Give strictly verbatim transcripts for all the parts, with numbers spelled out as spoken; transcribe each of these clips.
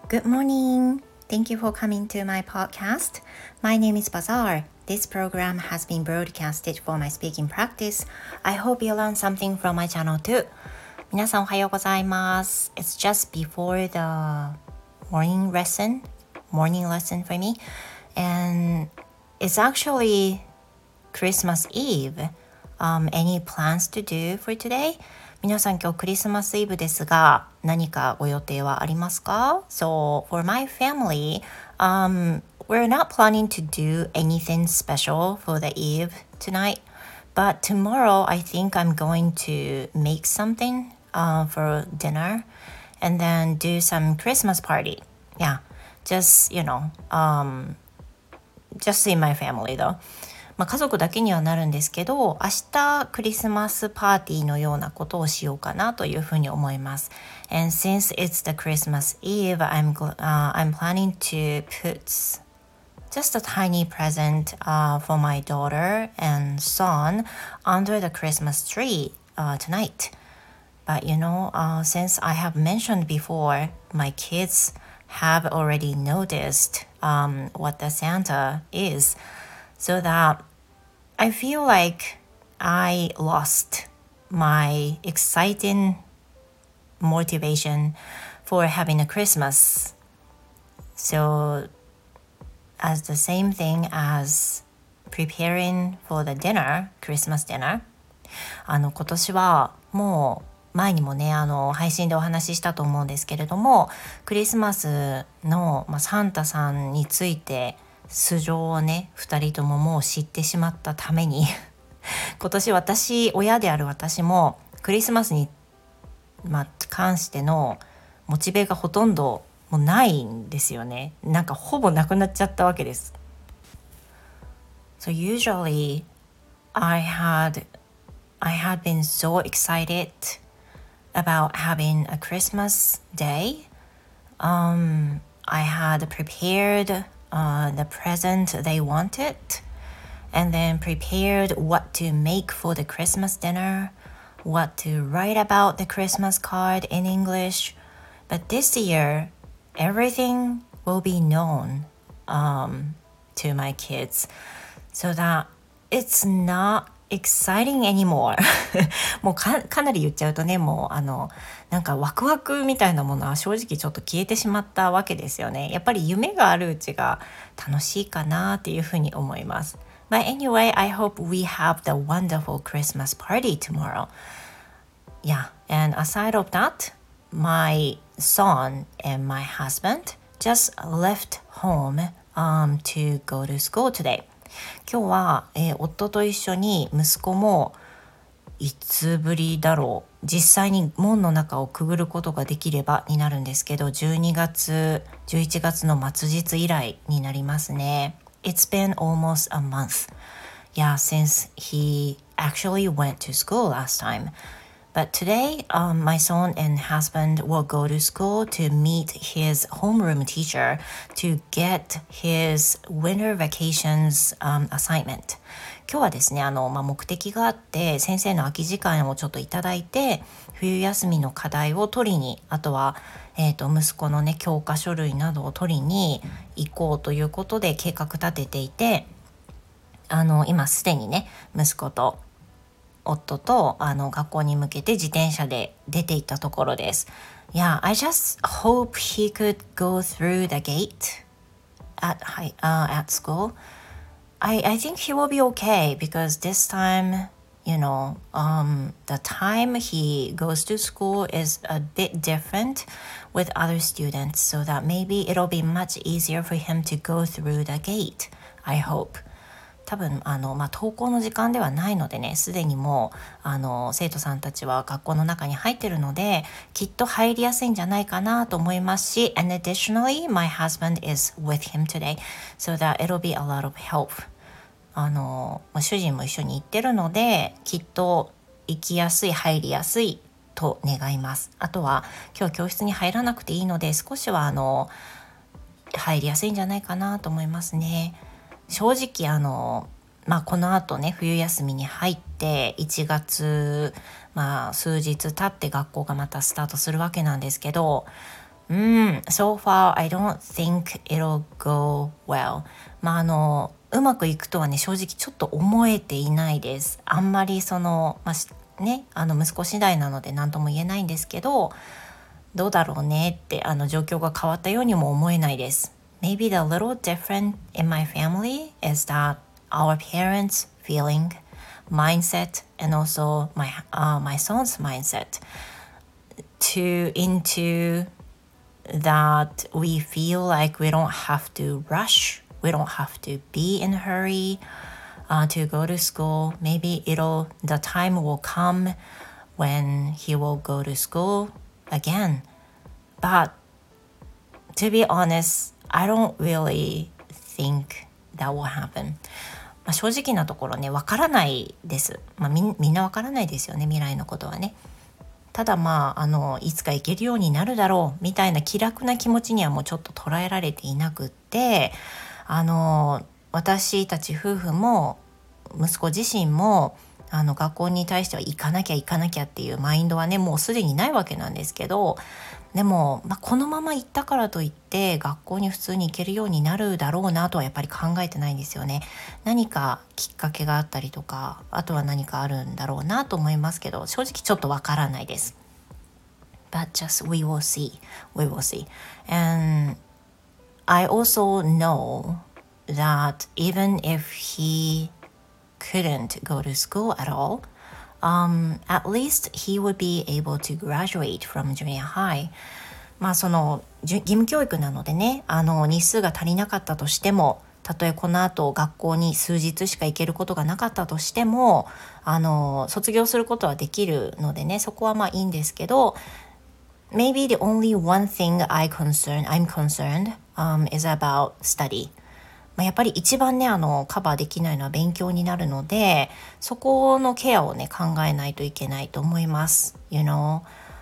Good morning. Thank you for coming to my podcast. My name is Bazaar. This program has been broadcasted for my speaking practice. I hope you learn something from my channel too. 皆さんおはようございます。It's just before the morning lesson, morning lesson for me. And it's actually Christmas Eve. Um, any plans to do for today?皆さん今日クリスマスイブですが何かご予定はありますか？ So for my family, um, we're not planning to do anything special for the Eve tonight, but tomorrow I think I'm going to make something uh, for dinner and then do some Christmas party. Yeah, just, you know, um, just in my family though.まあ、家族だけにはなるんですけど、明日クリスマスパーティーのようなことをしようかなというふうに思います。And since it's the Christmas Eve, I'm, uh, I'm planning to put just a tiny present uh, for my daughter and son under the Christmas tree uh, tonight. But you know, uh, since I have mentioned before, my kids have already noticed um, what the Santa is, so that I feel like I lost my exciting motivation for having a Christmas. So as the same thing as preparing for the dinner, Christmas dinner, あの今年はもう前にもねあの配信でお話ししたと思うんですけれども、クリスマスの、まあ、サンタさんについて素性をねふたりとももう知ってしまったために今年私親である私もクリスマスに、まあ、関してのモチベがほとんどもうないんですよね。なんかほぼなくなっちゃったわけです。So usually I had I had been so excited about having a Christmas day. Um, I had prepared、uh, the present they wanted and then prepared what to make for the Christmas dinner, what to write about the Christmas card in English. But this year, everything will be known um, to my kids so that it's not exciting anymore もう か, かなり言っちゃうとねもうあのなんかワクワクみたいなものは正直ちょっと消えてしまったわけですよね。やっぱり夢があるうちが楽しいかなっていうふうに思います。But anyway, I hope we have the wonderful Christmas party tomorrow. Yeah, and aside of that, my son and my husband just left home um, to go to school today.今日は、えー、夫と一緒に息子もいつぶりだろう実際に門の中をくぐることができればになるんですけどじゅうにがつじゅういちがつの末日以来になりますね。 It's been almost a month. Yeah, since he actually went to school last time.But today, um, my son and husband will go to school to meet his homeroom teacher to get his winter vacations、um, assignment. 今日はですね、あの、まあ、目的があって先生の空き時間をちょっといただいて冬休みの課題を取りに、あとは、えーと、息子のね教科書類などを取りに行こうということで計画立てていて、あの今すでにね息子と夫とあの学校に向けて自転車で出て行ったところです。Yeah, I just hope he could go through the gate at, uh, at school. I, I think he will be okay because this time, you know, um, the time he goes to school is a bit different with other students, so that maybe it'll be much easier for him to go through the gate. I hope.多分あの、まあ、登校の時間ではないのでねすでにもうあの生徒さんたちは学校の中に入ってるのできっと入りやすいんじゃないかなと思いますし And additionally, my husband is with him today so that it'll be a lot of help あの、まあ、主人も一緒に行ってるのできっと行きやすい入りやすいと願います。あとは今日教室に入らなくていいので少しはあの入りやすいんじゃないかなと思いますね。正直あの、まあ、この後ね冬休みに入っていちがつ、まあ、数日経って学校がまたスタートするわけなんですけどうん、so far I don't think it'll go well. まああのうまくいくとはね正直ちょっと思えていないです。あんまりその、まあ、ね、あの息子次第なので何とも言えないんですけど、どうだろうねってあの状況が変わったようにも思えないです。Maybe the little different in my family is that our parents' feeling, mindset, and also my, uh, my son's mindset to into that we feel like we don't have to rush, we don't have to be in a hurry uh, to go to school. Maybe it'll the time will come when he will go to school again. But to be honest, I don't really think that will happen. まあ、正直なところね、わからないです。まあ、み, みんなわからないですよね、未来のことはね。ただまあ、あのいつか行けるようになるだろうみたいな気楽な気持ちにはもうちょっと捉えられていなくって、あの私たち夫婦も息子自身もあの学校に対しては行かなきゃ行かなきゃっていうマインドはねもうすでにないわけなんですけど、でも、まあ、このまま行ったからといって学校に普通に行けるようになるだろうなとはやっぱり考えてないんですよね。何かきっかけがあったりとか、あとは何かあるんだろうなと思いますけど、正直ちょっとわからないです。But just we will see, we will see. And I also know that even if he couldn't go to school at all,Um, at least he would be able to graduate from junior high. まあその義務教育なのでね、あの日数が足りなかったとしても、たとえこの後学校に数日しか行けることがなかったとしても、あの卒業することはできるのでね、そこはまあいいんですけど、Maybe the only one thing I concern, I'm concerned、um, is about study.まあ、やっぱり一番ねあのカバーできないのは勉強になるので、そこのケアをね考えないといけないと思います。You know,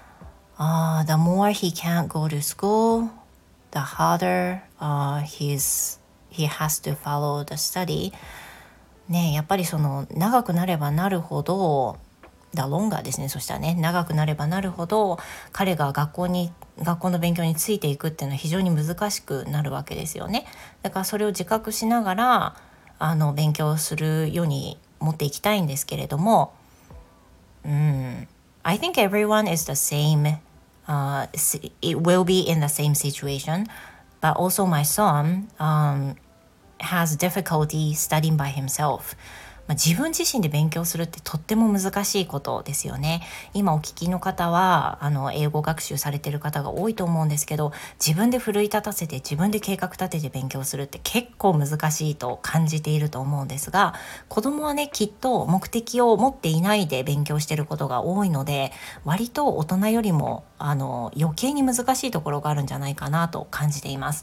uh, the more he can't go to school, the harder、uh, he's, he has to follow the study. ね、やっぱりその長くなればなるほどだロンガーですね。そしたらね長くなればなるほど彼が学校に学校の勉強についていくっていうのは非常に難しくなるわけですよね。だからそれを自覚しながらあの勉強するように持っていきたいんですけれども、うん、I think everyone is the same、uh, it will be in the same situation, but also my son、um, has difficulty studying by himself.まあ、自分自身で勉強するってとっても難しいことですよね。今お聞きの方はあの英語学習されている方が多いと思うんですけど、自分で奮い立たせて自分で計画立てて勉強するって結構難しいと感じていると思うんですが、子供はねきっと目的を持っていないで勉強していることが多いので、割と大人よりもあの余計に難しいところがあるんじゃないかなと感じています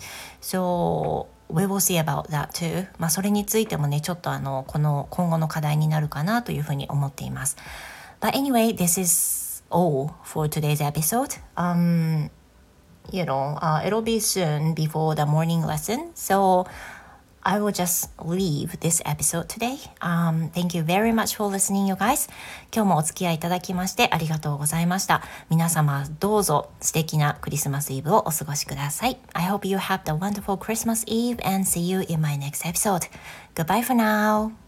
。So we will see about that too. まあそれについてもねちょっとあのこの今後の課題になるかなというふうに思っています。But anyway, this is all for today's episode. Um, you know, uh, it'll be soon before the morning lesson. So I will just leave this episode today. Um, thank you very much for listening, you guys. 今日もお付き合いいただきましてありがとうございました。皆様どうぞ素敵なクリスマスイブをお過ごしください。I hope you have a wonderful Christmas Eve and see you in my next episode. Goodbye for now.